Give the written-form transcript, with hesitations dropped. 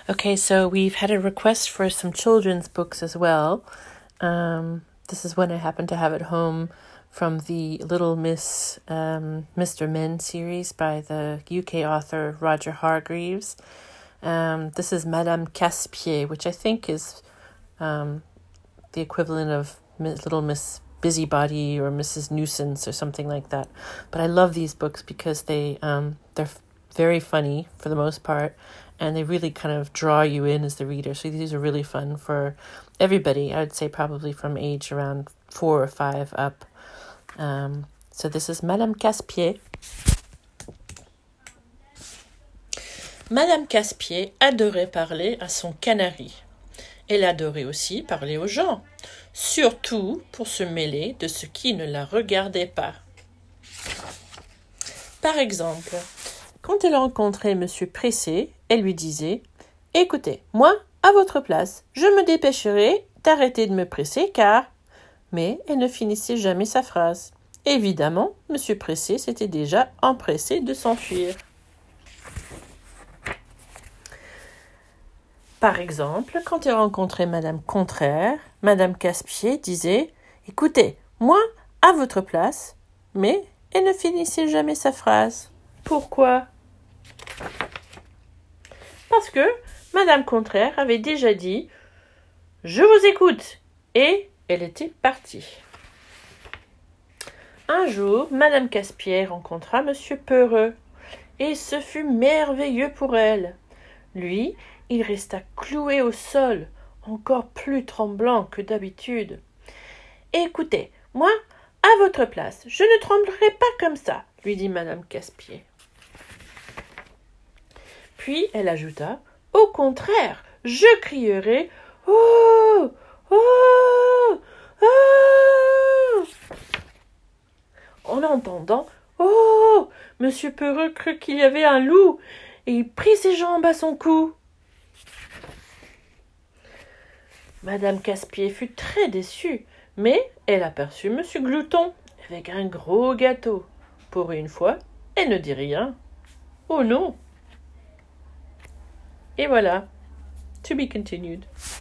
Okay, so we've had a request for some children's books as well. This is one I happen to have at home from the Little Miss Mr. Men series by the UK author Roger Hargreaves. This is Madame Casse-Pied, which I think is the equivalent of Little Miss Busybody or Mrs. Nuisance or something like that. But I love these books because they're very funny for the most part, and they really kind of draw you in as the reader. So these are really fun for everybody. I would say probably from age around 4 or 5 up. So this is Madame Casse-Pied. Madame Casse-Pied adorait parler à son canari. Elle adorait aussi parler aux gens, surtout pour se mêler de ce qui ne la regardait pas. Par exemple, quand elle rencontrait Monsieur Pressé, elle lui disait « Écoutez, moi, à votre place, je me dépêcherai d'arrêter de me presser car… » Mais elle ne finissait jamais sa phrase. Évidemment, Monsieur Pressé s'était déjà empressé de s'enfuir. Par exemple, quand elle rencontrait Madame Contraire, Madame Casse-Pied disait « Écoutez, moi, à votre place… » Mais elle ne finissait jamais sa phrase. Pourquoi ? Parce que Madame Contraire avait déjà dit « Je vous écoute » et elle était partie. Un jour, Madame Casse-Pied rencontra Monsieur Peureux et ce fut merveilleux pour elle. Lui, il resta cloué au sol, encore plus tremblant que d'habitude. « Écoutez, moi, à votre place, je ne tremblerai pas comme ça, » lui dit Madame Casse-Pied. Puis elle ajouta « Au contraire, je crierai « Oh ! Oh ! Oh !» En entendant « Oh !» Monsieur Peureux crut qu'il y avait un loup et il prit ses jambes à son cou. Madame Casse-Pied fut très déçue, mais elle aperçut Monsieur Glouton avec un gros gâteau. Pour une fois, elle ne dit rien. Oh non! Et voilà, to be continued.